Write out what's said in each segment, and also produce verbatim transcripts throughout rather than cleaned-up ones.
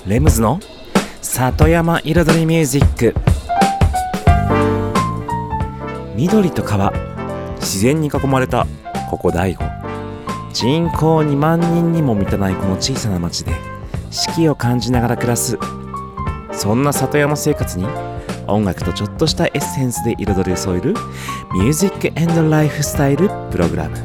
レムズの里山彩りミュージック。緑と川、自然に囲まれたここ大悟。人口にまんにんにも満たないこの小さな町で四季を感じながら暮らす、そんな里山生活に音楽とちょっとしたエッセンスで彩りを添えるミュージック&ライフスタイルプログラム。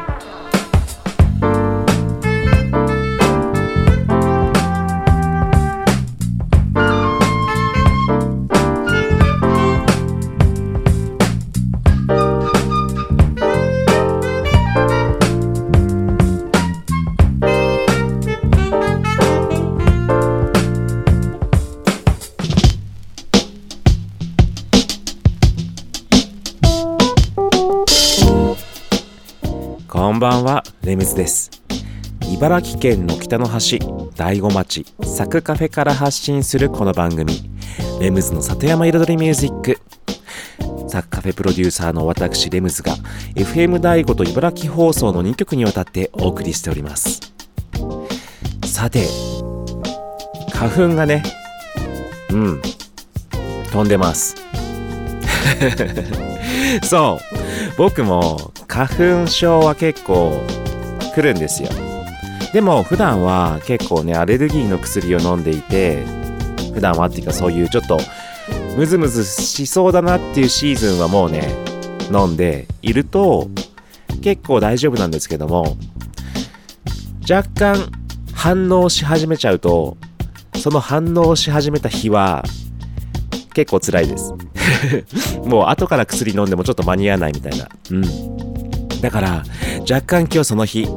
こんばんは、レムズです。茨城県の北の端、大子町サクカフェから発信するこの番組、レムズの里山彩りミュージック。サクカフェプロデューサーの私レムズが エフエム 大子と茨城放送のにきょくにわたってお送りしております。さて、花粉がね、うん飛んでますそう、僕も花粉症は結構来るんですよ。でも普段は結構ね、アレルギーの薬を飲んでいて、普段はっていうか、そういうちょっとムズムズしそうだなっていうシーズンはもうね飲んでいると結構大丈夫なんですけども、若干反応し始めちゃうと、その反応し始めた日は結構辛いですもう後から薬飲んでもちょっと間に合わないみたいな。うんだから若干今日その日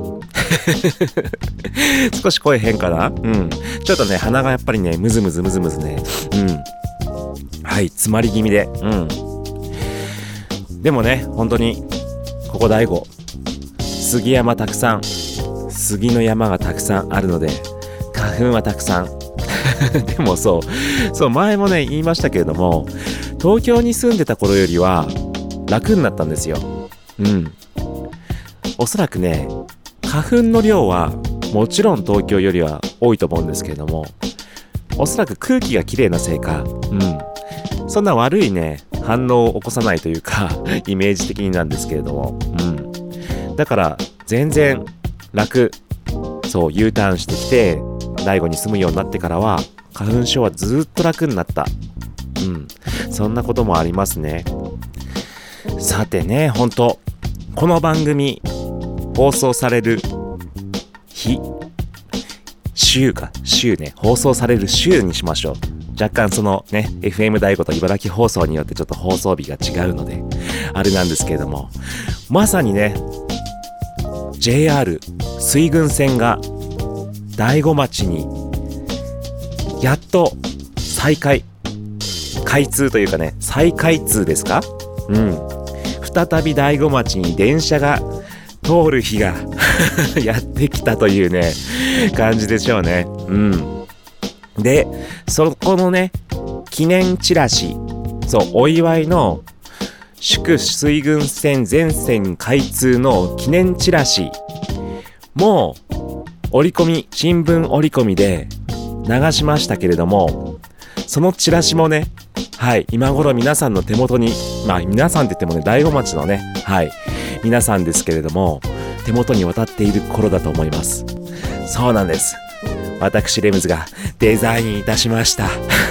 少し声変かな。うんちょっとね、鼻がやっぱりねムズムズムズムズね、うんはい詰まり気味で、うんでもね、本当にここ大悟、杉山たくさん、杉の山がたくさんあるので花粉はたくさんでもそうそう前もね言いましたけれども、東京に住んでた頃よりは楽になったんですよ。うんおそらくね、花粉の量はもちろん東京よりは多いと思うんですけれども、おそらく空気がきれいなせいか、うんそんな悪いね反応を起こさないというかイメージ的になんですけれども、うんだから全然楽。そう U ターンしてきて大悟に住むようになってからは花粉症はずっと楽になった。うんそんなこともありますね。さてね、本当この番組放送される日、週か週ね、放送される週にしましょう。若干そのね エフエム 大子と茨城放送によってちょっと放送日が違うのであれなんですけれども、まさにね ジェイアール 水郡線が大子町にやっと再開開通というかね、再開通ですか。うん再び大子町に電車が通る日がやってきたというね感じでしょうね。うんでそこのね記念チラシ、そうお祝いの祝水郡線全線開通の記念チラシも折り込み、新聞折り込みで流しましたけれども、そのチラシもね、はい今頃皆さんの手元に、まあ皆さんって言ってもね大子町のね、はい皆さんですけれども手元に渡っている頃だと思います。そうなんです、私レムズがデザインいたしました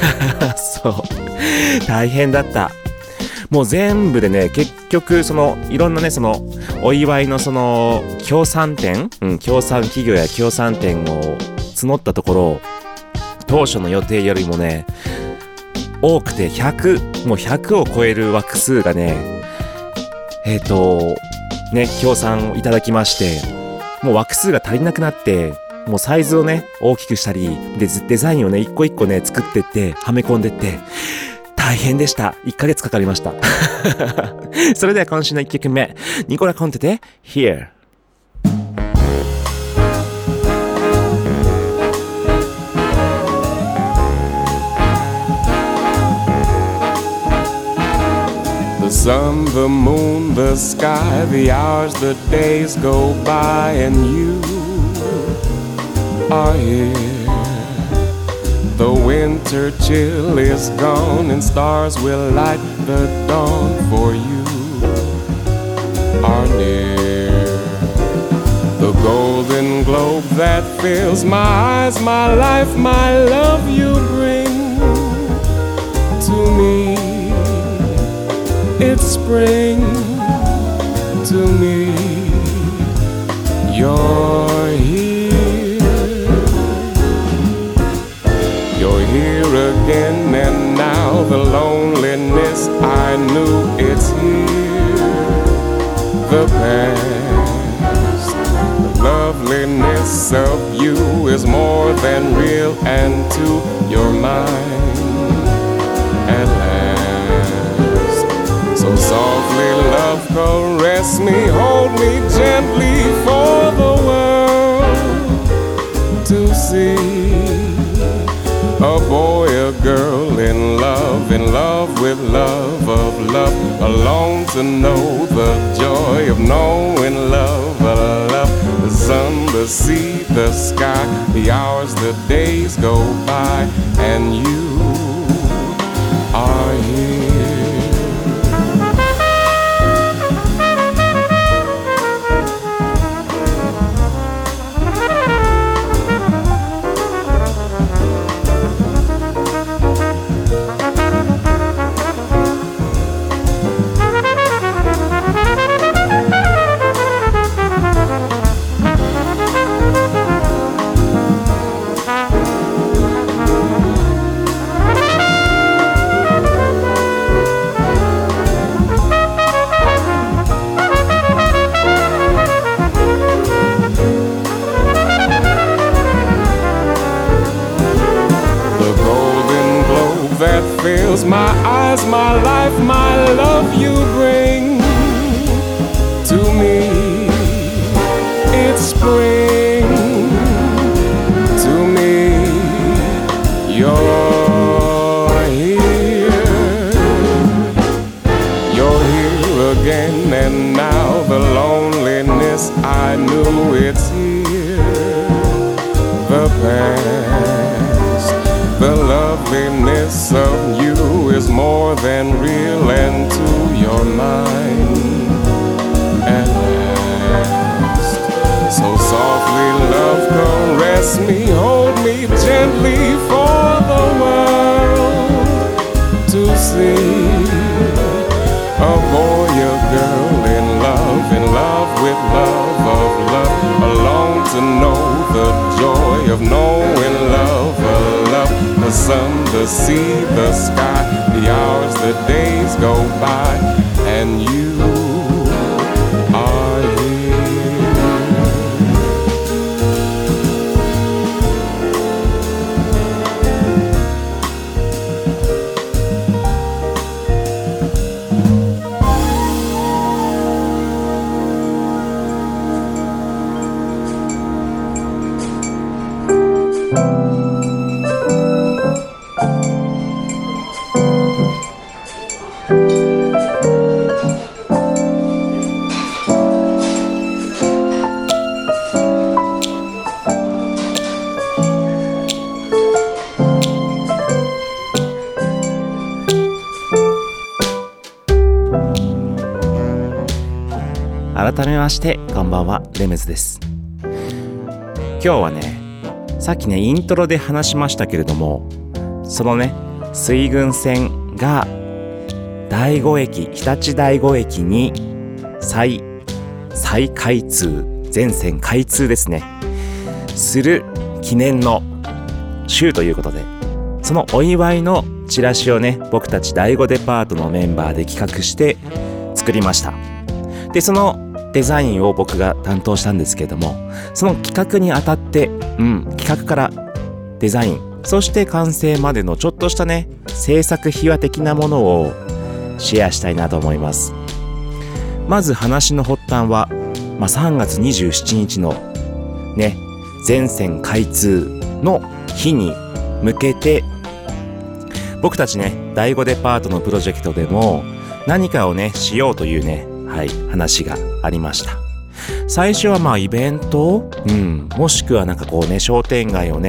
そう大変だった。もう全部でね、結局そのいろんなねそのお祝いのその協賛店、うん、協賛企業や協賛店を募ったところ、当初の予定よりもね多くてひゃく、もうひゃくを超える枠数がねえっとね協賛をいただきまして、もう枠数が足りなくなって、もうサイズをね大きくしたりでデザインをね一個一個ね作ってってはめ込んでって大変でした。いっかげつかかりましたそれでは今週のいっきょくめ、ニコラ・コンテで Here。 The sun, the moon, the sky, the hours, the days go by and you are here. winter chill is gone and stars will light the dawn, for you are near. The golden globe that fills my eyes, my life, my love you bring to me. It's spring to me. You're here. You're here again, and now the loneliness I knew, it's here. The past, the loveliness of you is more than real, and to your mind at last. So softly, love, caress me, hold me gently for the world to see. A boy, a girl in love, in love with love of love, alone to know the joy of knowing love, a love. The sun, the sea, the sky, the hours, the days go by, and you are here. Fills my eyes, my life, my love you bring to me. It's spring to me. You're here. You're here again, and now the loneliness I knew, it's here. The past, the loveliness of you is more than real, and to your mind at last. So softly, love, caress me, hold me gently for the world to see. A boy, a girl in love, in love with love of love, alone to know the joy of knowing love, a love. The sun, the sea, the sky, the hours, the days go by, and you are here. 改めましてこんばんは、レムズです。今日はね、さっきねイントロで話しましたけれども、そのね水郡線が第五駅、日立第五駅に再再開通、全線開通ですねする記念の週ということで、そのお祝いのチラシをね、僕たち第五デパートのメンバーで企画して作りました。で、そのデザインを僕が担当したんですけれども、その企画にあたって、うん、企画からデザイン、そして完成までのちょっとしたね、制作秘話的なものをシェアしたいなと思います。まず話の発端は、まあ、さんがつにじゅうしちにちのね、全線開通の日に向けて、僕たちね、第五デパートのプロジェクトでも何かをね、しようというね、はい、話がありました。最初はまあイベント、うん、もしくはなんかこうね、商店街をね、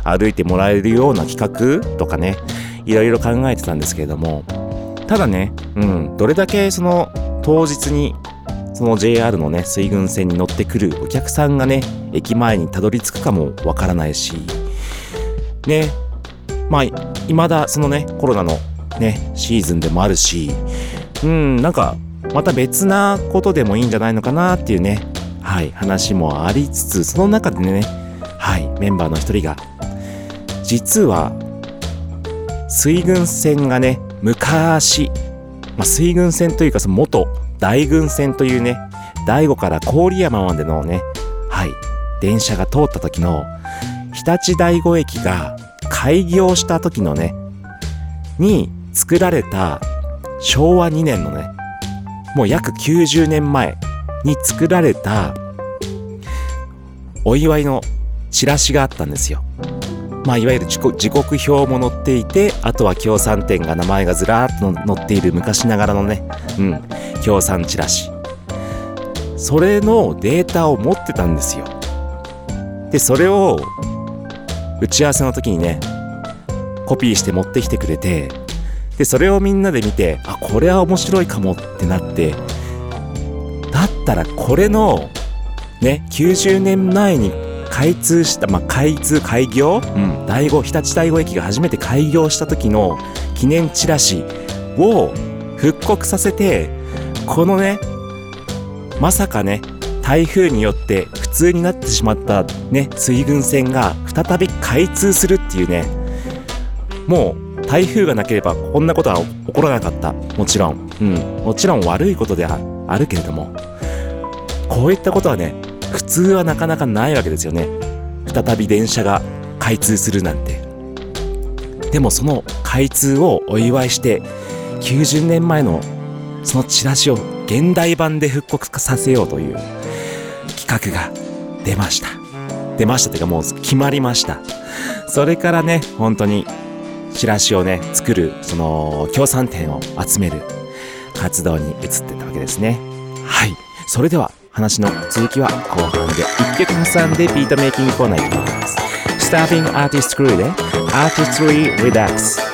歩いてもらえるような企画とかね、いろいろ考えてたんですけれども、ただね、うん、どれだけその当日にその ジェイアール のね水郡線に乗ってくるお客さんがね駅前にたどり着くかもわからないしね、まあ未だそのねコロナのねシーズンでもあるし、うんなんかまた別なことでもいいんじゃないのかなっていうね、はい話もありつつ、その中でね、はいメンバーの一人が実は水郡線がね昔、まあ、水郡線というかその元大郡線というね、大子から郡山までのね、はい電車が通った時の日立大子駅が開業した時のねに作られたしょうわにねんのね、もう約きゅうじゅうねんまえに作られたお祝いのチラシがあったんですよ。まあいわゆる時刻表も載っていて、あとは協賛店が名前がずらーっと載っている昔ながらのね、うん協賛チラシ、それのデータを持ってたんですよ。でそれを打ち合わせの時にねコピーして持ってきてくれて、でそれをみんなで見て、あこれは面白いかもってなって、だったらこれのねきゅうじゅうねんまえに開通した、まあ、開通開業、うん、大子日立大子駅が初めて開業した時の記念チラシを復刻させて、このねまさかね台風によって不通になってしまったね水郡線が再び開通するっていうね、もう台風がなければこんなことは起こらなかった。もちろん、うん、もちろん悪いことではあるけれども、こういったことはね普通はなかなかないわけですよね。再び電車が開通するなんて。でもその開通をお祝いしてきゅうじゅうねんまえのそのチラシを現代版で復刻させようという企画が出ました出ましたというかもう決まりました。それからね本当にチラシをね作るその協賛店を集める活動に移ってたわけですね。はい、それでは話の続きは後半で一曲挟んでビートメイキングコーナー行きます。スターフィングアーティストクルーでアーティストリーリラックス。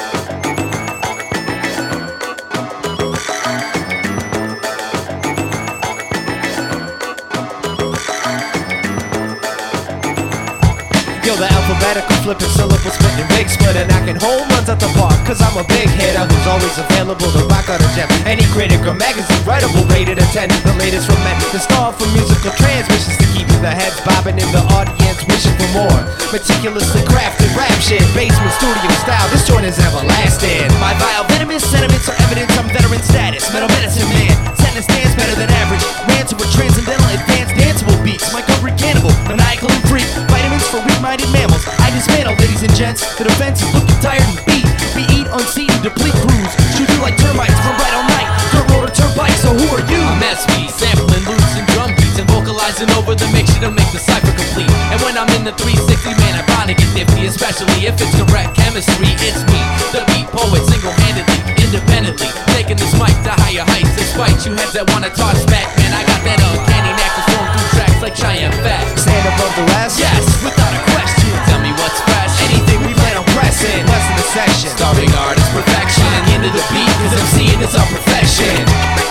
Yo, the alphabetical flipping syllables spitting big splitter, knocking home runs at the park. Cause I'm a big hitter who's always available to rock out a gem. Any critic or magazine writable rated a ten. The latest from men, the star for musical transmissions to keep the heads bobbing in the audience wishing for more. Meticulously crafted rap shit, basement studio style. This joint is everlasting. My vile venomous sentiments are evidence I'm veteran status. Metal medicine man, setting a stance better than average. Ran to a transcendental advanced danceable beats. My cover cannibal, maniacal and freak. Vitamins for weak-minded mammals. I dismantle, ladies and gents. The defense is looking tired and beat. We eat, unseat, and deplete crews. Shoot you like termites from right all night. Dirt road or turnpike, so who are you? I'm S B, sampling loops and drum beats and vocalizing over the mix to make the cipher complete. And when I'm in the three sixty, man, I'm bound to get nifty, especially if it's correct chemistry. It's me, the beat poet, single-handedly, independently, taking this mic to higher heights. Despite you heads that wanna talk smack, man, I got that uncanny knack to storm through tracks like Cheyenne Fat. Stand above the rest? Yes, without a question. Tell me what's fresh. Anything we plan on pressing, less than a section. Starving artist perfection. Into the beat, cause MCing is our profession.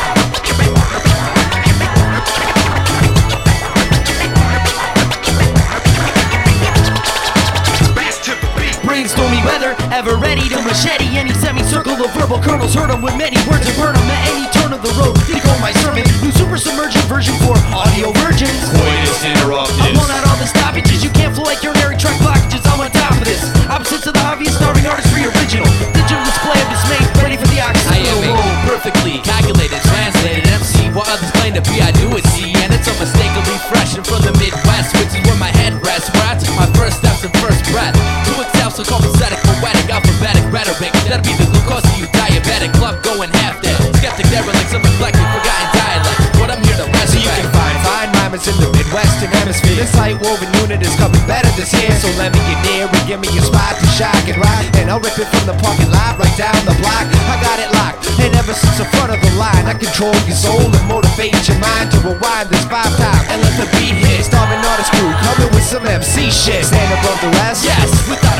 Brainstormy weather, ever ready to machete any semicircle of verbal kernels. Heard 'em with many words and burn 'em at any turn of the road. Did go my sermon, new super submergent version for audio virgins. Coitus interruptus. I've blown out all the stoppages, you can't flow like urinary tract blockages. I'm on top of this, opposites of the obvious, starving artistry original. Digital display of dismay, ready for the oxygen. I am a perfectly calculated, translated M C. While others claim to be, I do it see. And it's unmistakably fresh and from the Midwest, which is where my head rests, where I took my first steps and first breath. To excel, so copacetic, poetic, alphabetic rhetoric. That'll be the glucose to you, diabetic club going half dead. Skeptic derelicts, some reflecting, forgotten dialect. What I'm here to resurrect. So you can find fine rhymers in the Midwestern hemisphere. This light woven unit is coming better this year. So let me get near and give me a spot to shock and rock. And I'll rip it from the parking lot right down the block. I got it locked, and ever since the front of the line, I control your soul and motivate your mind to rewind this five times and let the beat hit. Starving artist crew coming with some M C shit. Stand above the rest? Yes, without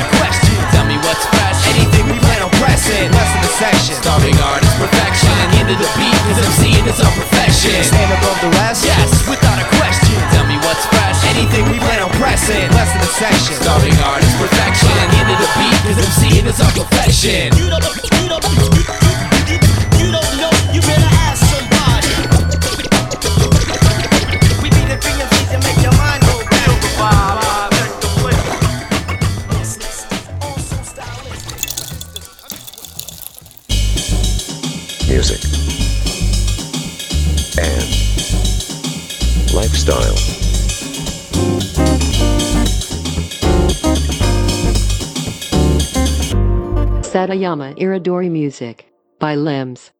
pressing, less than a section. Starving artist perfection, into the beat, cause MCing is our profession. Stand above the rest? Yes, without a question. Tell me what's fresh. Anything we plan on pressing, less than a section. Starving artist perfection, into the beat, cause MCing is our profession. You don't, you don't, you, you, you, you don't know, you better ask somebody. We be the thing of things that make your mind go back. Feel the vibe, check the flavor. Awesome stylish. Music and lifestyle. Satayama Iridori Music by Limbs.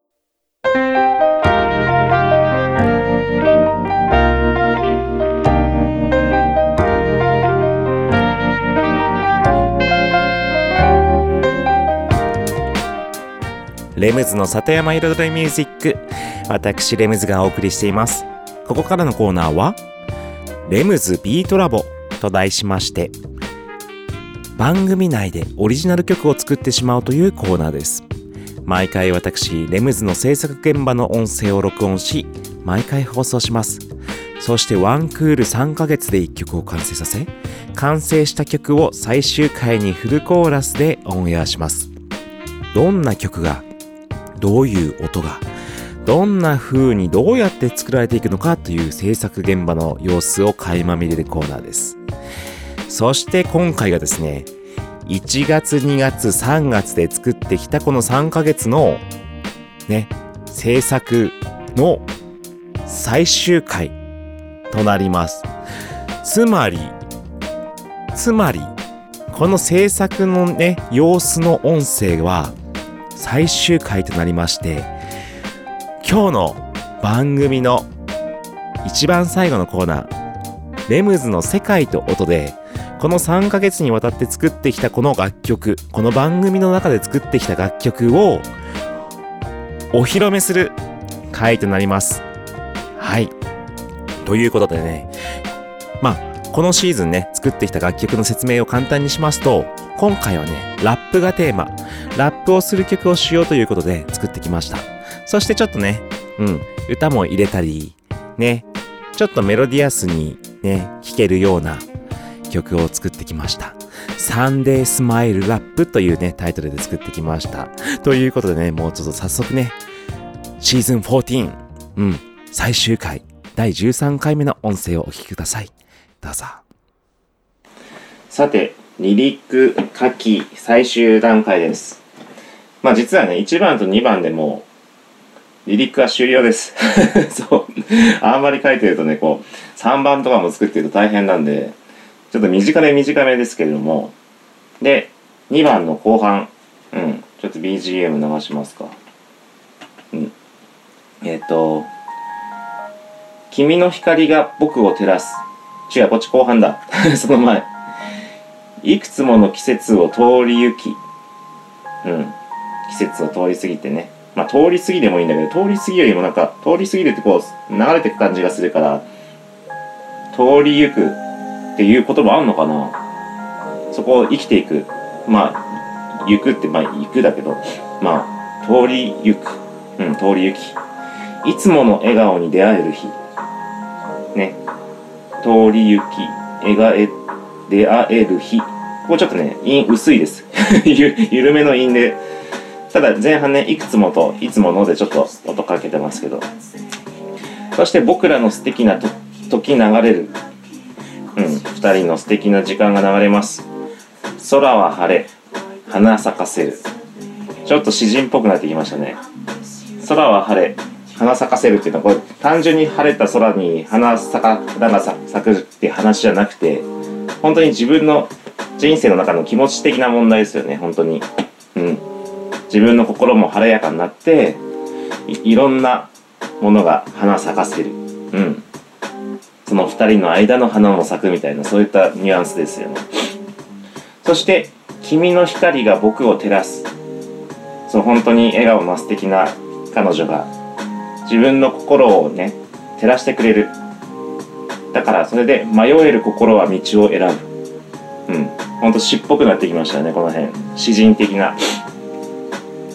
レムズの里山彩りミュージック、私レムズがお送りしています。ここからのコーナーはレムズビートラボと題しまして、番組内でオリジナル曲を作ってしまうというコーナーです。毎回私レムズの制作現場の音声を録音し、毎回放送します。そしてワンクールさんかげつでいっきょくを完成させ、完成した曲を最終回にフルコーラスでオンエアします。どんな曲が、どういう音が、どんな風にどうやって作られていくのかという制作現場の様子を垣間見れるコーナーです。そして今回がですね、いちがつにがつさんがつで作ってきたこのさんかげつのね、制作の最終回となります。つまりつまりこの制作のね、様子の音声は最終回となりまして、今日の番組の一番最後のコーナー、レムズの世界と音で、このさんかげつにわたって作ってきたこの楽曲、この番組の中で作ってきた楽曲をお披露目する回となります。はい。ということでね、まあこのシーズンね、作ってきた楽曲の説明を簡単にしますと、今回はね、ラップがテーマ、ラップをする曲をしようということで作ってきました。そしてちょっとね、うん、歌も入れたり、ね、ちょっとメロディアスにね、弾けるような曲を作ってきました。サンデースマイルラップというね、タイトルで作ってきました。ということでね、もうちょっと早速ね、シーズンじゅうよん、うん、最終回、だいじゅうさんかいめの音声をお聞きください。どうぞ。さて、リリック書き最終段階です。まあ実はね、いちばんとにばんでもリリックは終了です。そう。あんまり書いてるとね、こう、さんばんとかも作ってると大変なんで、ちょっと短め短めですけれども。で、にばんの後半。うん。ちょっと ビージーエム 流しますか。うん。えっと、君の光が僕を照らす。違う、こっち後半だ。その前。いくつもの季節を通り行き。うん。季節を通り過ぎてね。まあ、通り過ぎでもいいんだけど、通り過ぎよりもなんか、通り過ぎるってこう、流れていく感じがするから、通り行くっていう言葉あんのかな。そこを生きていく。まあ、行くって、まあ、行くだけど、まあ、通り行く。うん、通り行き。いつもの笑顔に出会える日。ね。通り行き、笑え、出会える日。ここちょっとね、韻薄いです。ゆ、緩めの韻で。ただ前半ね、いくつもといつものでちょっと音かけてますけど。そして僕らの素敵なと時流れる。うん、二人の素敵な時間が流れます。空は晴れ、花咲かせる。ちょっと詩人っぽくなってきましたね。空は晴れ、花咲かせるっていうのは、これ単純に晴れた空に花咲か、花が咲くって話じゃなくて、本当に自分の人生の中の気持ち的な問題ですよね、本当に。うん。自分の心も晴れやかになって い, いろんなものが花咲かせる、うん、その二人の間の花も咲くみたいな、そういったニュアンスですよね。そして君の光が僕を照らす。その本当に笑顔の素敵な彼女が自分の心をね照らしてくれる。だからそれで迷える心は道を選ぶ。うん、本当詩っぽくなってきましたね、この辺。詩人的な。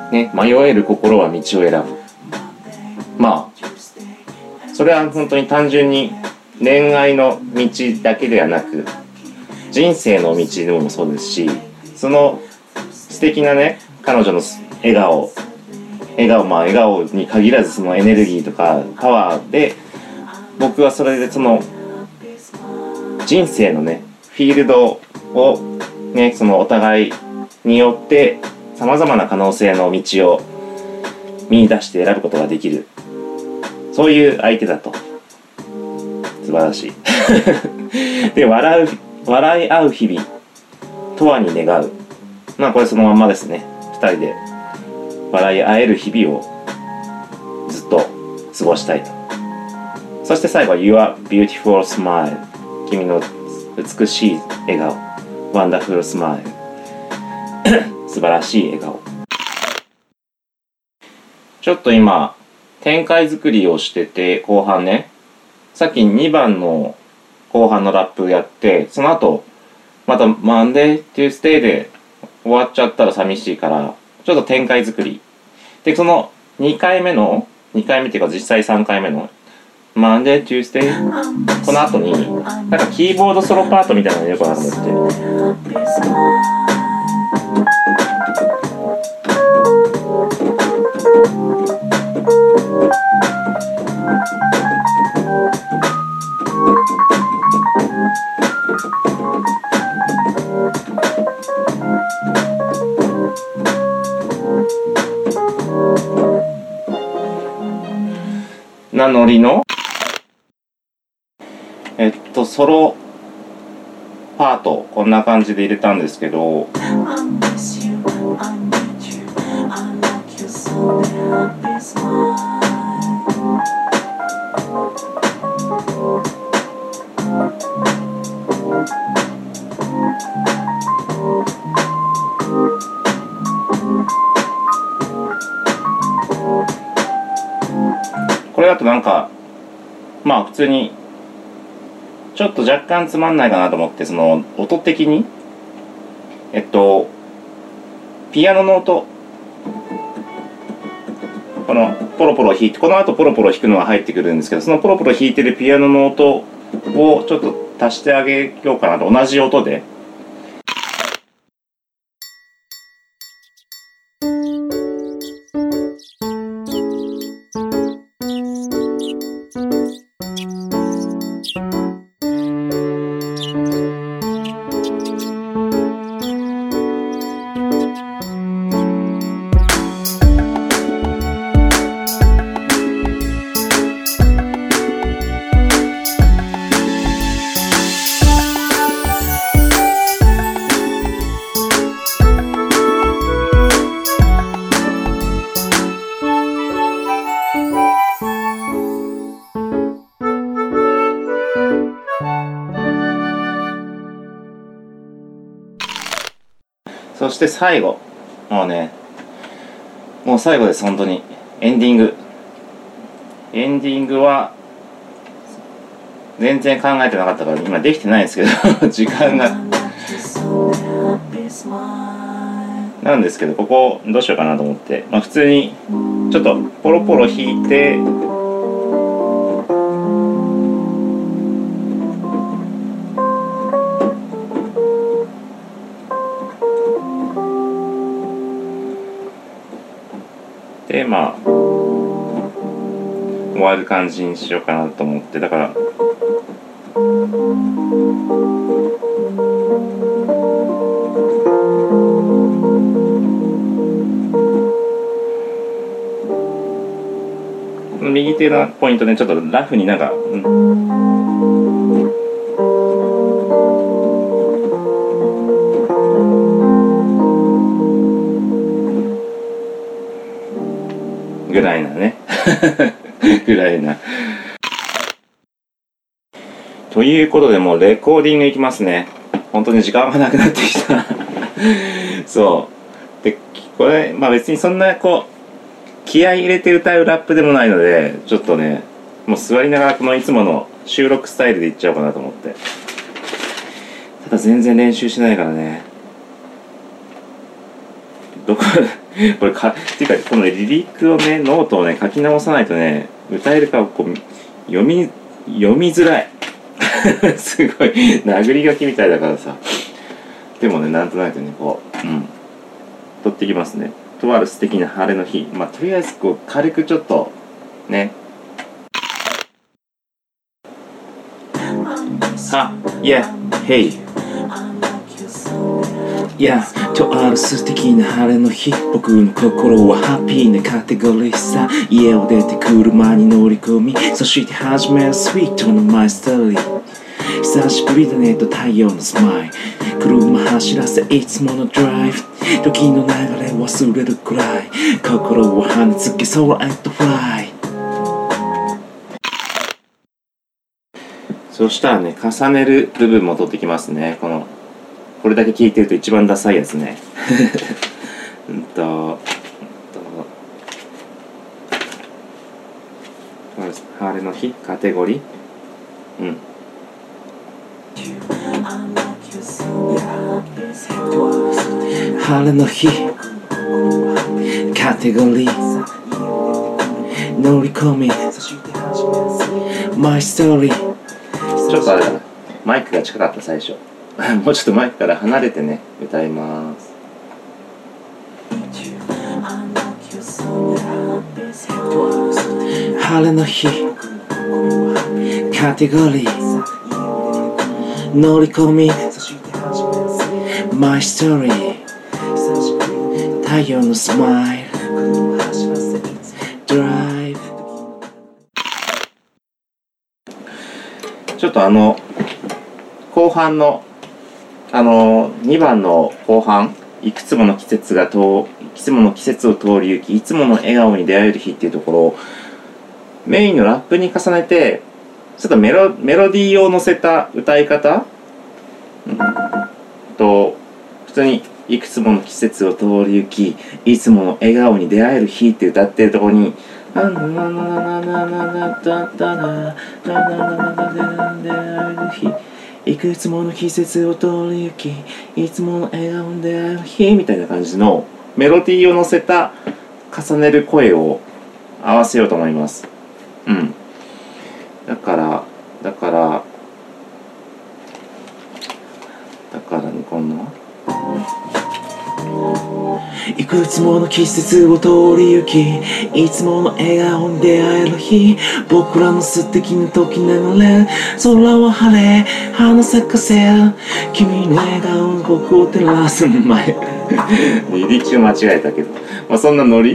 ね、迷える心は道を選ぶ。まあそれは本当に単純に恋愛の道だけではなく人生の道でもそうですし、その素敵なね彼女の笑顔笑顔まあ笑顔に限らずそのエネルギーとかパワーで、僕はそれでその人生のねフィールドをねそのお互いによってさまざまな可能性の道を見出して選ぶことができる、そういう相手だと。素晴らしいで笑う笑い合う日々とはに願う。まあこれそのまんまですね。ふたりで笑い合える日々をずっと過ごしたいと。そして最後は Your beautiful smile、 君の美しい笑顔 Wonderful smile 素晴らしい笑顔。ちょっと今展開作りをしてて、後半ねさっきにばんの後半のラップやって、その後またマンデーテュースデーで終わっちゃったら寂しいからちょっと展開作りで、そのにかいめのにかいめっていうか実際さんかいめのマンデーテュースデー、この後になんかキーボードソロパートみたいなの入れようかなと思って、なノリのえっとソロパートこんな感じで入れたんですけど、これだとなんかまあ普通にちょっと若干つまんないかなと思って、その音的にえっとピアノの音、このポロポロ弾いてこの後ポロポロ弾くのが入ってくるんですけど、そのポロポロ弾いてるピアノの音をちょっと足してあげようかなと。同じ音でそして最後、もうね、もう最後です、本当に。エンディング。エンディングは、全然考えてなかったから、今できてないんですけど、時間が。なんですけど、ここ、どうしようかなと思って、まあ普通に、ちょっと、ポロポロ弾いて、でまあ終わる感じにしようかなと思って、だから右手のポイントでちょっとラフになんか、うんぐらいなねぐらいなということで、もうレコーディングいきますね。本当に時間がなくなってきたそうで、これまあ別にそんなこう気合い入れて歌うラップでもないので、ちょっとねもう座りながらこのいつもの収録スタイルでいっちゃおうかなと思って。ただ全然練習しないからね、どここれか、っていうか、このリリックをね、ノートをね、書き直さないとね、歌えるかこう、読み、読みづらい。すごい、殴り書きみたいだからさ。でもね、なんとなくね、こう、うん。取ってきますね。とある素敵な晴れの日。まあ、とりあえず、こう、軽くちょっと、ね。は、yeah, hey。いや、とある素敵な晴れの日、僕の心はハッピーなカテゴリーさ。家を出て車に乗り込み、そして始めるスイートのマイストーリー。久しぶりだねと太陽のスマイル、車走らせいつものドライブ、時の流れ忘れるくらい、心を跳ねつけ空へとフライ。そしたらね、重ねる部分も取ってきますね。このこれだけ聞いてると一番ダサいやつね。うんと、うんと晴れの日カテゴリー、うん。晴れの日カテゴリー乗り込みマイストーリー。ちょっとあれだな、マイクが近かった最初。もうちょっとマイクから離れてね、歌います。晴れの日カテゴリー乗り込みマイストーリー、太陽のスマイルドライブ。ちょっとあの後半のあのにばんの後半、いくつもの季節がといくつもの季節を通り行き、いつもの笑顔に出会える日っていうところをメインのラップに重ねて、ちょっとメロ、メロディーを乗せた歌い方、うん、と普通にいくつもの季節を通り行き、いつもの笑顔に出会える日って歌ってるところに、あなななななななだったな、ななななな出会える日、いくつもの季節を通り行き、いつもの笑顔に出会える日みたいな感じのメロディーを乗せた重ねる声を合わせようと思います。うん。だからだからだからね、こんないくつもの季節を通り行き、いつもの笑顔に出会える日、僕らの素敵な時流れ、空は晴れ花咲かせる、君の笑顔に僕を照らす前。リリック間違えたけど、まあそんなノリ。い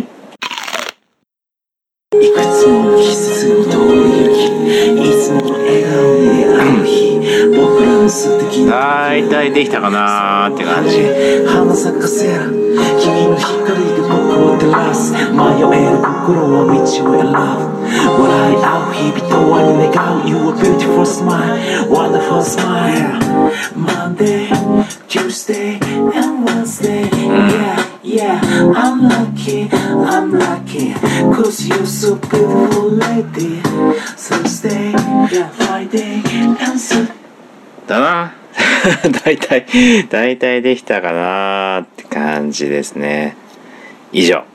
くつもの季節を通り行き、いつもの笑顔に出会える日、僕らの素敵なだいたいできたかなーって感じ。花咲かせる君の光が僕を照らす、迷える心は道を選ぶ、笑い合う日々とはに願う You a beautiful smile, wonderful smile. Monday, Tuesday and Wednesday, yeah, yeah, I'm lucky, I'm lucky, cause you're so beautiful lady. Thursday, Friday and Saturday だな。だいたいだいたいできたかなって感じですね。以上。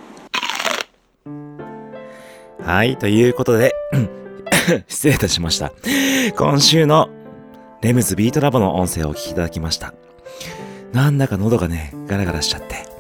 はい、ということで失礼いたしました。今週のレムズビートラボの音声をお聞きいただきました。なんだか喉がねガラガラしちゃって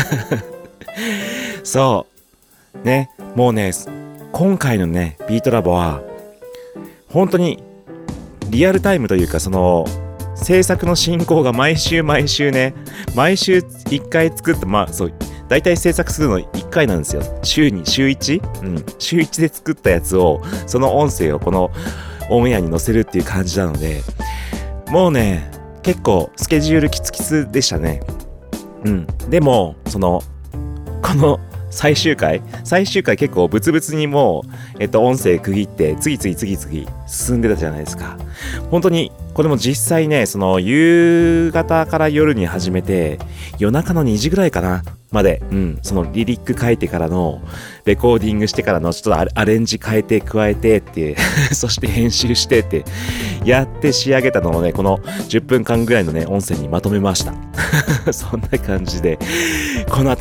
そうね、もうね今回のねビートラボは本当にリアルタイムというか、その制作の進行が毎週毎週ね、毎週いっかい作って、まあそうだいたい制作するのいっかいなんですよ。週に週 いち？ うん、週いちで作ったやつを、その音声をこのオンエアに載せるっていう感じなので、もうね結構スケジュールキツキツでしたね。うん、でもそのこの最終回最終回結構ブツブツにもう、えっと、音声区切って次々次々進んでたじゃないですか。本当にこれも実際ね、その夕方から夜に始めて夜中のにじぐらいかなまで、うん、そのリリック書いてからのレコーディングしてからのちょっとアレンジ変えて加えてってそして編集してってやって仕上げたのをね、このじゅっぷんかんぐらいのね音声にまとめましたそんな感じでこの後ね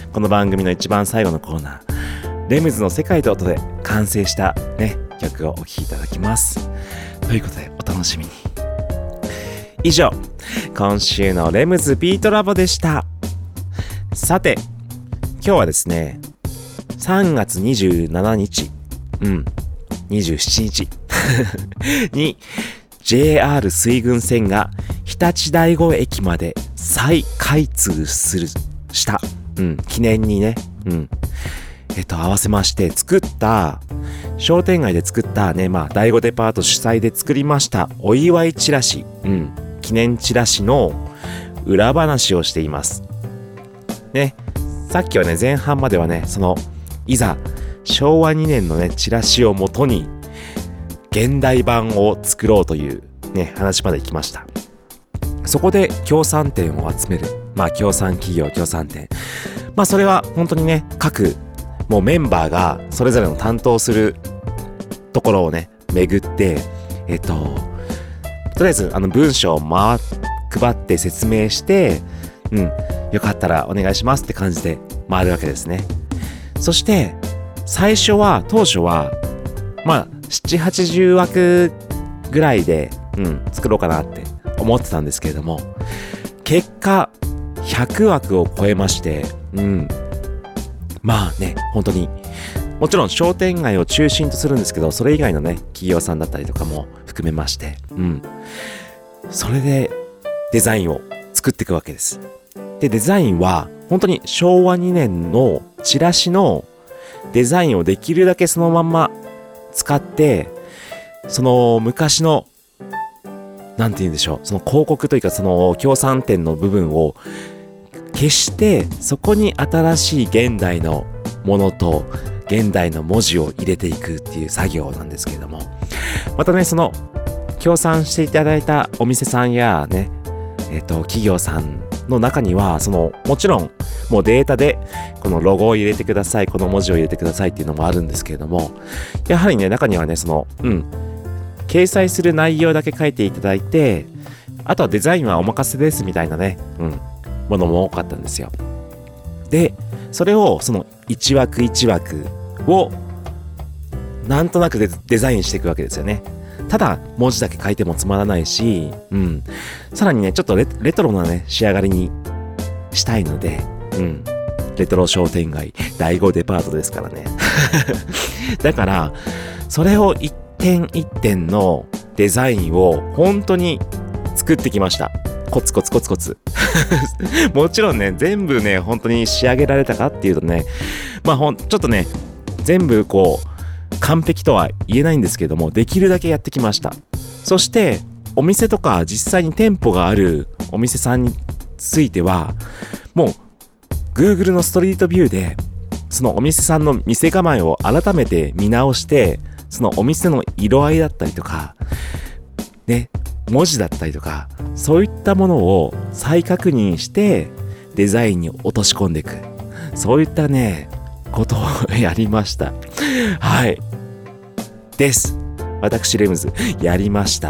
この番組の一番最後のコーナー、レムズの世界と音で完成したね、曲をお聴きいただきます。ということで、お楽しみに。以上、今週のレムズビートラボでした。さて、今日はですね、さんがつにじゅうしちにち、うん、にじゅうしちにちに ジェイアール 水郡線が日立大子駅まで再開通するした、うん、記念にね、うん、えっと合わせまして作った商店街で作ったね、まあ大子デパート主催で作りましたお祝いチラシ、うん、記念チラシの裏話をしていますね。さっきはね、前半まではね、そのいざしょうわにねんのねチラシをもとに現代版を作ろうというね話まで行きました。そこで協賛店を集める、まあ協賛企業協賛店、まあそれは本当にね、各もうメンバーがそれぞれの担当するところをね巡って、えっととりあえずあの文章を回配って説明して、うん、よかったらお願いしますって感じで回るわけですね。そして最初は当初はまあななじゅうはちじゅうわくぐらいで、うん、作ろうかなって思ってたんですけれども、結果ひゃくわくを超えまして、うん、まあね、本当にもちろん商店街を中心とするんですけど、それ以外のね企業さんだったりとかも含めまして、うん、それでデザインを作っていくわけです。で、デザインは本当にしょうわにねんのチラシのデザインをできるだけそのまんま使って、その昔のなんて言うんでしょう、その広告というかその協賛店の部分を消して、そこに新しい現代のものと現代の文字を入れていくっていう作業なんですけれども、またね、その協賛していただいたお店さんやね、えっと企業さんの中には、そのもちろんもうデータでこのロゴを入れてください、この文字を入れてくださいっていうのもあるんですけれども、やはりね、中にはね、そのうん掲載する内容だけ書いていただいて、あとはデザインはお任せですみたいなね、うん、ものも多かったんですよ。で、それをその一枠一枠をなんとなく デ, デザインしていくわけですよね。ただ文字だけ書いてもつまらないし、うん、さらにね、ちょっと レ, レトロなね仕上がりにしたいので、うん、レトロ商店街第五デパートですからね。だからそれを一点一点のデザインを本当に作ってきました。コツコツコツコツ。もちろんね、全部ね本当に仕上げられたかっていうとね、まあほんちょっとね全部こう完璧とは言えないんですけども、できるだけやってきました。そしてお店とか実際に店舗があるお店さんについては、もう Google のストリートビューでそのお店さんの店構えを改めて見直して、そのお店の色合いだったりとかね、文字だったりとか、そういったものを再確認してデザインに落とし込んでいく、そういったねことをやりました。はいです。私レムズやりました。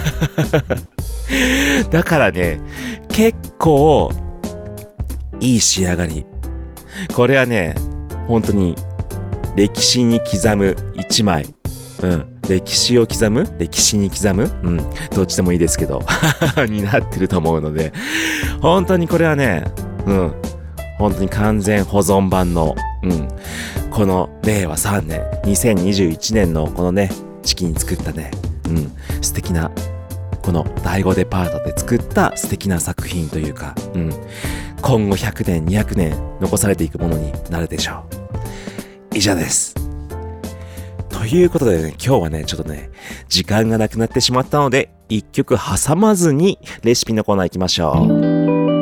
だからね、結構いい仕上がり。これはね、本当に歴史に刻む一枚。うん。歴史を刻む歴史に刻むうん。どっちでもいいですけど。になってると思うので。本当にこれはね、うん。本当に完全保存版の、うん。このれいわさんねん、にせんにじゅういちねんのこのね、時期に作ったね、うん。素敵な、この第五デパートで作った素敵な作品というか、うん。今後ひゃくねん、にひゃくねん残されていくものになるでしょう。以上です。ということでね、今日はね、ちょっとね、時間がなくなってしまったので、一曲挟まずにレシピのコーナー行きましょう。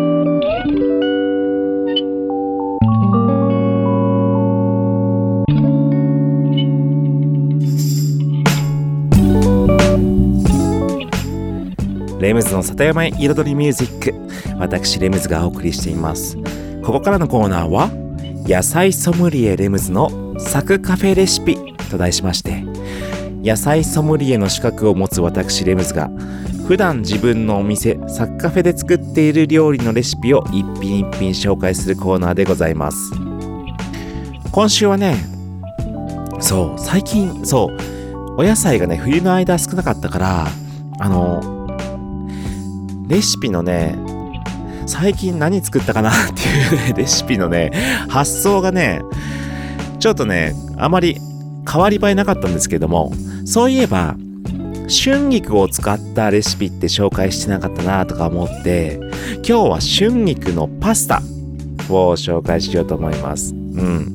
レムズの里山へ彩りミュージック、私レムズがお送りしています。ここからのコーナーは野菜ソムリエレムズのサクカフェレシピと題しまして、野菜ソムリエの資格を持つ私レムズが普段自分のお店サッカフェで作っている料理のレシピを一品一品紹介するコーナーでございます。今週はね、そう最近そうお野菜がね冬の間少なかったから、あのレシピのね最近何作ったかなっていう、ね、レシピのね発想がねちょっとねあまり変わり映えなかったんですけども、そういえば春菊を使ったレシピって紹介してなかったなとか思って、今日は春菊のパスタを紹介しようと思います。うん。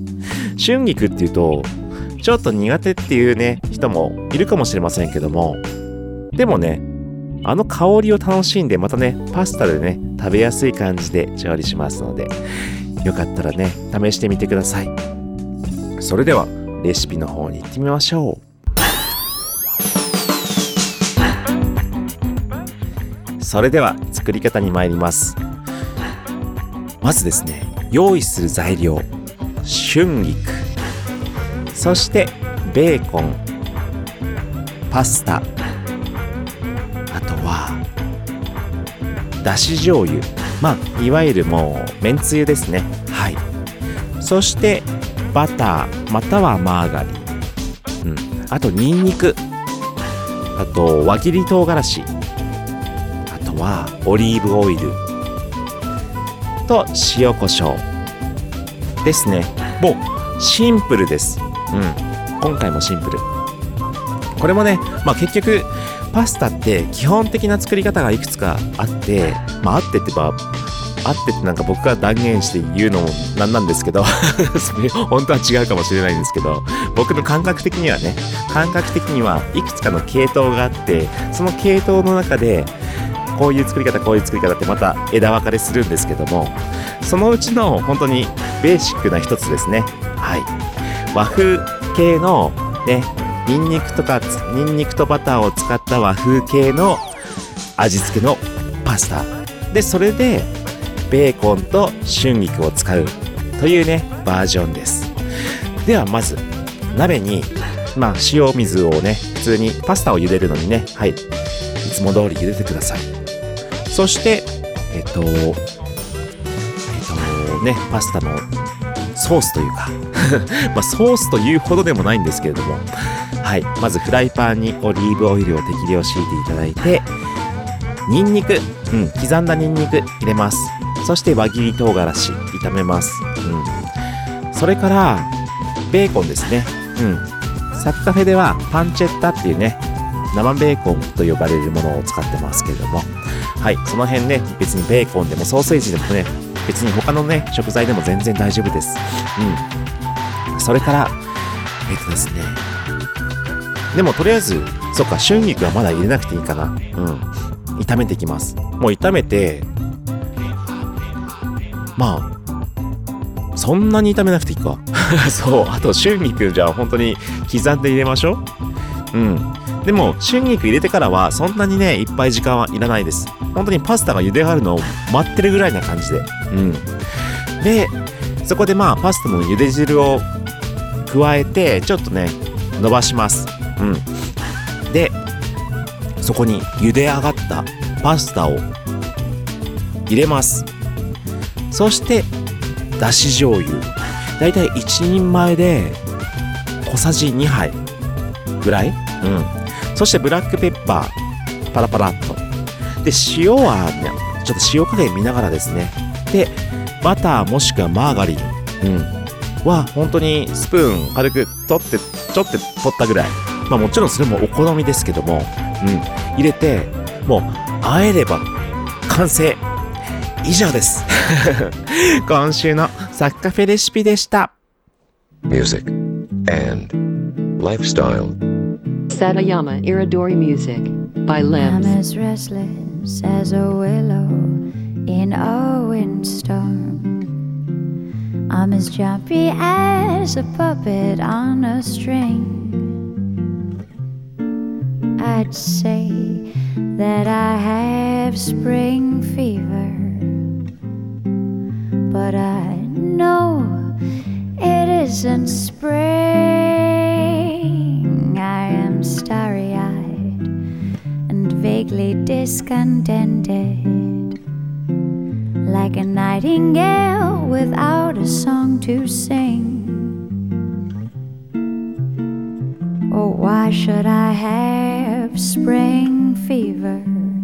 春菊っていうとちょっと苦手っていうね人もいるかもしれませんけども、でもねあの香りを楽しんでまたねパスタでね食べやすい感じで調理しますので、よかったらね試してみてください。それではレシピの方に行ってみましょう。それでは作り方に参ります。まずですね、用意する材料、春菊、そしてベーコン、パスタ、あとはだし醤油、まあいわゆるもうめんつゆですね。はい。そしてバターまたはマーガリン、うん、あとニンニク、あと輪切り唐辛子、あとはオリーブオイルと塩コショウですね。もうシンプルです。うん、今回もシンプル。これもね、まあ結局パスタって基本的な作り方がいくつかあって、まああってってばあってってなんか僕が断言して言うのもなんなんですけどそれ本当は違うかもしれないんですけど、僕の感覚的にはね感覚的にはいくつかの系統があって、その系統の中でこういう作り方こういう作り方ってまた枝分かれするんですけども、そのうちの本当にベーシックな一つですね。はい、和風系のねニンニクとかニンニクとバターを使った和風系の味付けのパスタで、それでベーコンと春菊を使うというねバージョンです。ではまず鍋にまあ塩水をね普通にパスタを茹でるのにね、はい、いつも通り茹でてください。そしてえっとえっとねパスタのソースというかまあソースというほどでもないんですけれども、はい、まずフライパンにオリーブオイルを適量敷いていただいて、ニンニク、うん、刻んだニンニク入れます。そして輪切り唐辛子炒めます。うん、それからベーコンですね。うん、サッカフェではパンチェッタっていうね生ベーコンと呼ばれるものを使ってますけれども、はい、その辺ね別にベーコンでもソーセージでもね別に他のね食材でも全然大丈夫です。うん、それからえっとですねでもとりあえずそっか春菊はまだ入れなくていいかな。うん、炒めていきます。もう炒めてまあそんなに炒めなくていいかそうあと春菊じゃあ本当に刻んで入れましょう。うんでも春菊入れてからはそんなにねいっぱい時間はいらないです。本当にパスタが茹で上がるのを待ってるぐらいな感じで、うんでそこでまあパスタの茹で汁を加えてちょっとね伸ばします。うんでそこに茹で上がったパスタを入れます。そしてだし醤油だいたい一人前で小さじにはいぐらい、うん、そしてブラックペッパーパラパラっとで、塩はねちょっと塩加減見ながらですね。でバターもしくはマーガリン、うん、は本当にスプーン軽く取ってちょって取ったぐらい、まあもちろんそれもお好みですけども、うん、入れてもう和えれば完成以上です今週のサッカフェレシピでした。 Music and lifestyle. Satayama Iridori Music by I'm Limbs. as restless as a willow in a windstorm. I'm as jumpy as a puppet on a string. I'd say that I have spring fever, but I know it isn't spring. I am starry-eyed and vaguely discontented, like a nightingale without a song to sing. Oh, why should I have spring fever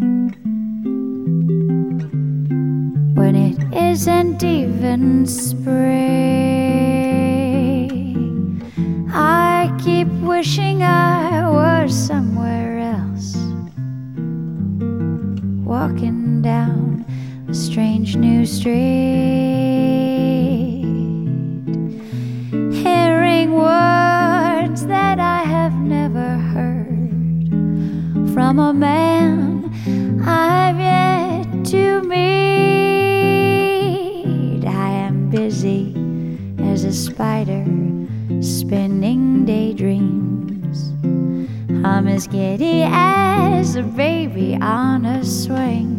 when it isn't even spring? I keep wishing I was somewhere else, walking down a strange new street, hearing words that I have never heard from a man I've yet to meet. I am busy as a spider spinning daydreams. I'm as giddy as a baby on a swing.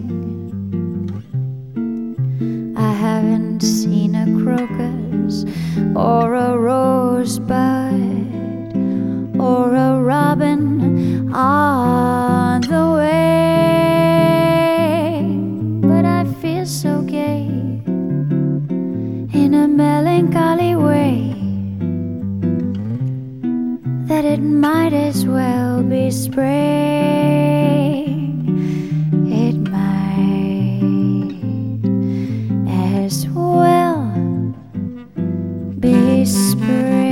I haven't seen a crocus or a rosebud or a robin on the wing, but I feel so gay in a melancholy way that it might as well be spring. It might as well be spring.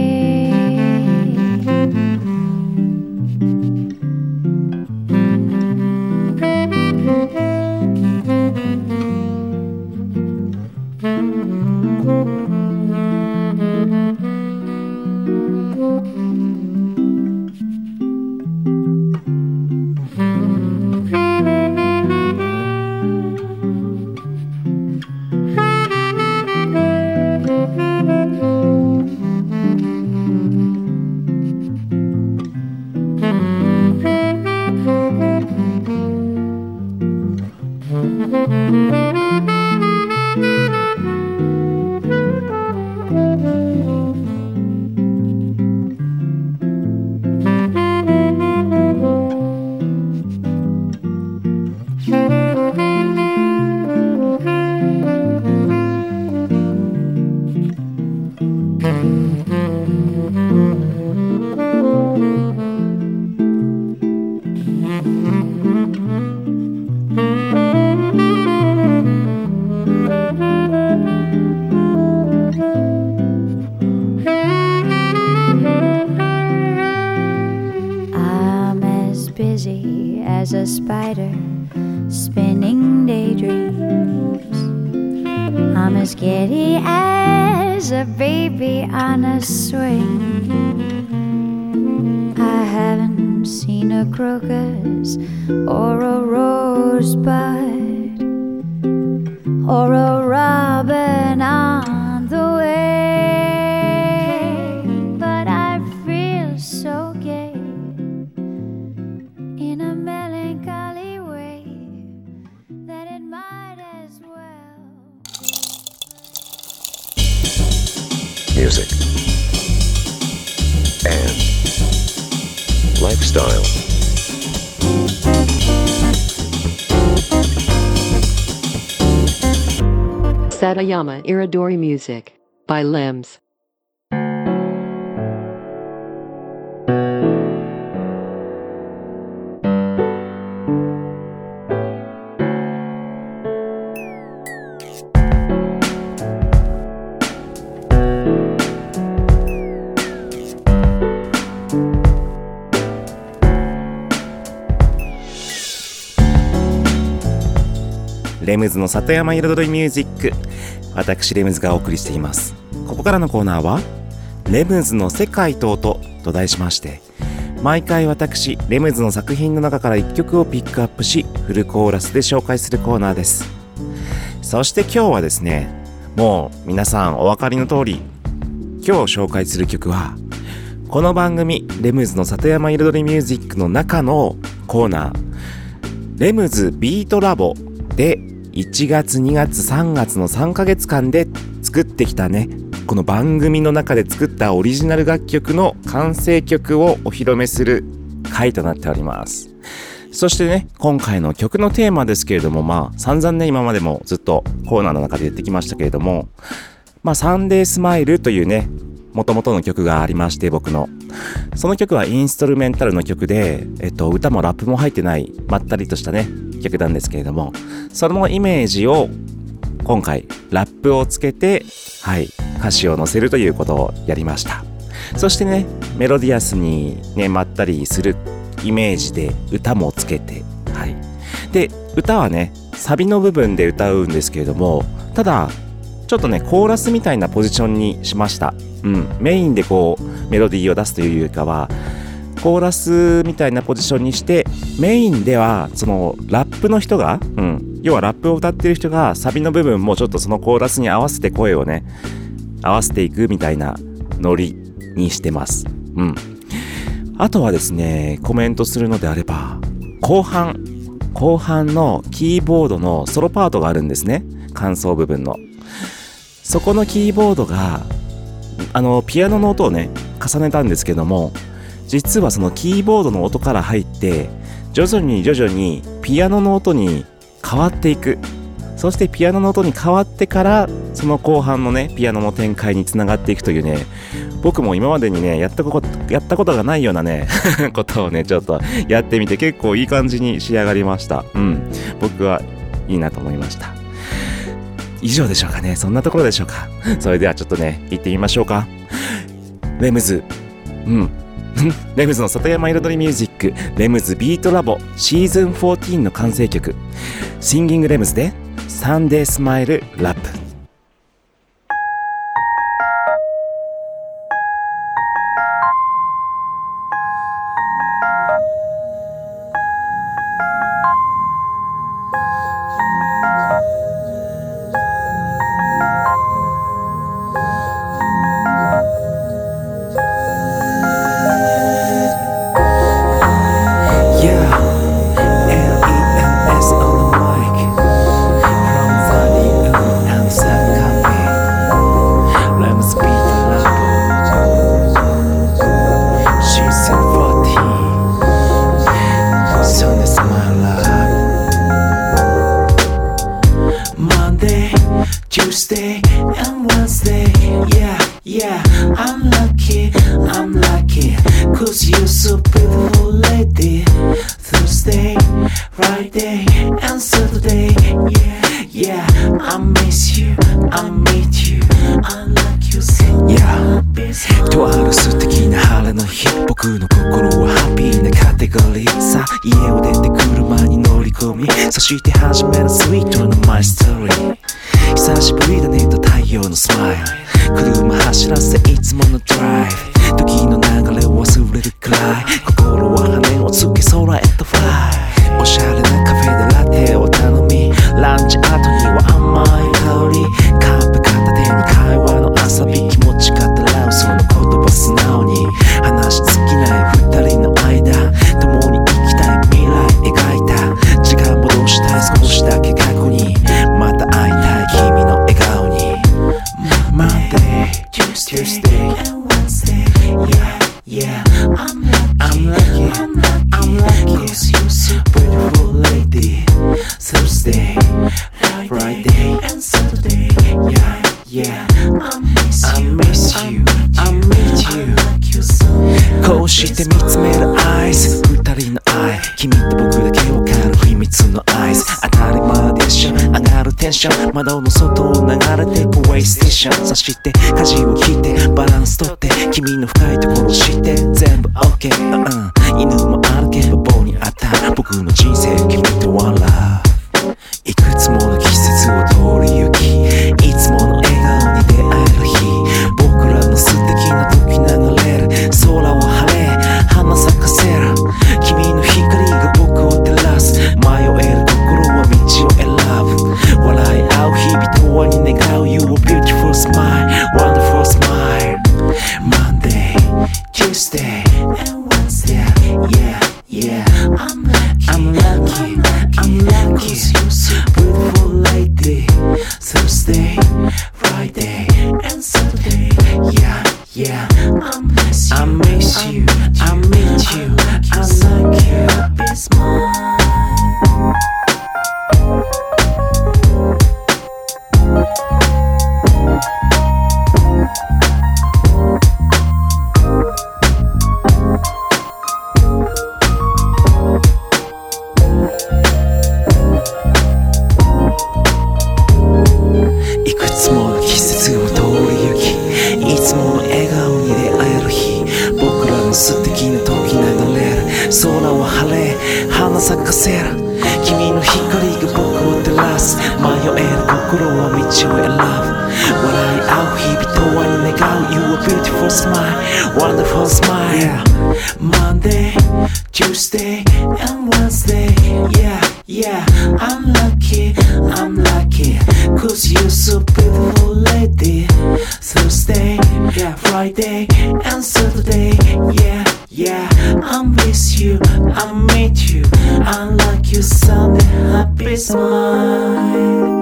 As a spider spinning daydreams, I'm as giddy as a baby on a swing. I haven't seen a crocus or a rosebud or a robin on the wing, but I feel so gay in a melancholy way that it might as well. Music and lifestyle. Satayama Iridori Music by Limbs. レムズの里山彩りミュージック、私レムズがお送りしています。ここからのコーナーはレムズの世界と音と題しまして、毎回私レムズの作品の中からいっきょくをピックアップし、フルコーラスで紹介するコーナーです。そして今日はですね、もう皆さんお分かりの通り、今日紹介する曲はこの番組レムズの里山彩りミュージックの中のコーナー、レムズビートラボでいちがつにがつさんがつのさんかげつかんで作ってきたね、この番組の中で作ったオリジナル楽曲の完成曲をお披露目する回となっております。 そしてね、今回の曲のテーマですけれども、まあ散々ね、今までもずっとコーナーの中で言ってきましたけれども、まあサンデースマイルというね、元々の曲がありまして、僕のその曲はインストルメンタルの曲で、えっと歌もラップも入ってないまったりとしたね曲なんですけれども、そのイメージを今回ラップをつけて、はい歌詞を載せるということをやりました。そしてね、メロディアスにねまったりするイメージで歌もつけて、はい。で、歌はね、サビの部分で歌うんですけれども、ただ、ちょっとね、コーラスみたいなポジションにしました。うん。メインでこう、メロディーを出すというよりかは、コーラスみたいなポジションにして、メインでは、その、ラップの人が、うん。要はラップを歌ってる人が、サビの部分もちょっとそのコーラスに合わせて声をね、合わせていくみたいなノリにしてます。うん。あとはですね、コメントするのであれば、後半、後半のキーボードのソロパートがあるんですね。間奏部分の。そこのキーボードが、あの、ピアノの音をね、重ねたんですけども、実はそのキーボードの音から入って、徐々に徐々にピアノの音に変わっていく。そしてピアノの音に変わってから、その後半のね、ピアノの展開につながっていくというね、僕も今までにね、やったこと、やったことがないようなね、ことをね、ちょっとやってみて結構いい感じに仕上がりました。うん。僕はいいなと思いました。以上でしょうかね。そんなところでしょうか。それではちょっとね、行ってみましょうか。レムズ。うん。レムズの里山彩りミュージック、レムズビートラボシーズンじゅうよんの完成曲、シンギングレムズでサンデースマイルラップ。 窓の外を流れてくウェイステーション、そして舵を引いてバランスとって君の深いところを知って全部 OK、うん、犬も歩けば棒にあった僕の人生君とワンラブ、いくつもの季節を通り行きいつもの笑顔に出会える日、僕らの素敵な時流れる空を晴れ花咲かせる君の光が僕を照らす、迷える心は道を選ぶ、笑い合う日々とはに願う You a beautiful smile, wonderful smile Monday, Tuesday, and Wednesday Yeah, yeah I'm lucky, I'm lucky, I'm lucky a beautiful smile, wonderful smile. Yeah. Monday, Tuesday, and Wednesday. Yeah, yeah, I'm lucky, I'm lucky, cause you're so beautiful lady. Thursday, yeah, Friday, and Saturday. Yeah, yeah, I'm with you, I meet you, I like you Sunday, happy smile.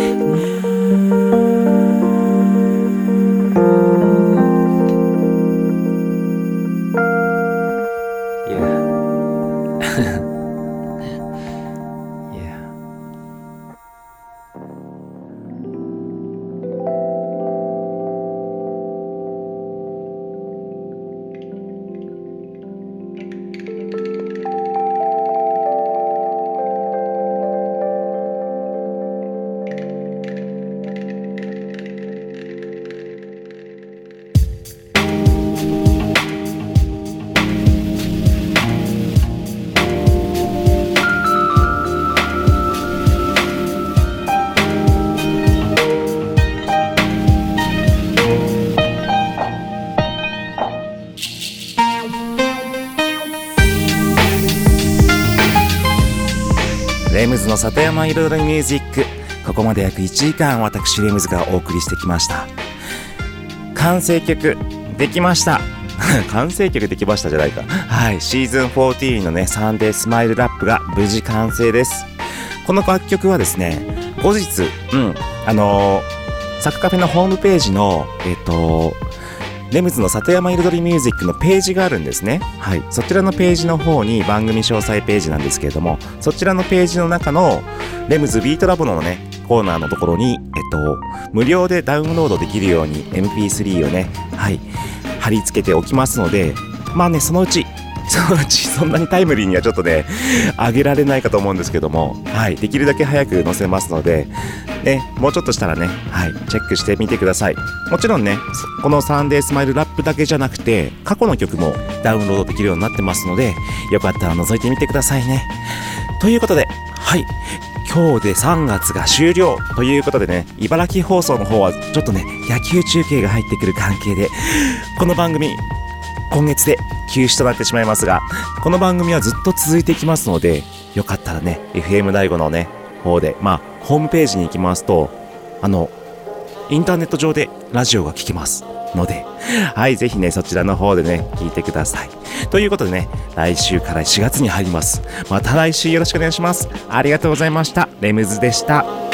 レムズの里山彩りミュージック、ここまで約いちじかん私レムズがお送りしてきました。完成曲できました完成曲できましたじゃないかはい、シーズンじゅうよんのねサンデースマイルラップが無事完成です。この楽曲はですね、後日うんあのー、サクカフェのホームページのえっとレムズの里山彩りミュージックのページがあるんですね。はい、そちらのページの方に番組詳細ページなんですけれども、そちらのページの中のレムズビートラボのねコーナーのところに、えっと無料でダウンロードできるように エムピースリー をね、はい貼り付けておきますので、まあねそのうちそのうちそんなにタイムリーにはちょっとね上げられないかと思うんですけども、はいできるだけ早く載せますので。ね、もうちょっとしたらね、はい、チェックしてみてください。もちろんね、このサンデースマイルラップだけじゃなくて、過去の曲もダウンロードできるようになってますので、よかったら覗いてみてくださいね。ということで、はい、今日でさんがつが終了ということでね、茨城放送の方はちょっとね、野球中継が入ってくる関係で、この番組、今月で休止となってしまいますが、この番組はずっと続いていきますので、よかったらね、エフエム 大悟のね、方で、まあ、ホームページに行きますと、あの、インターネット上でラジオが聞けますので、はい、ぜひね、そちらの方でね、聞いてください。ということでね、来週からしがつに入ります。また来週よろしくお願いします。ありがとうございました。レムズでした。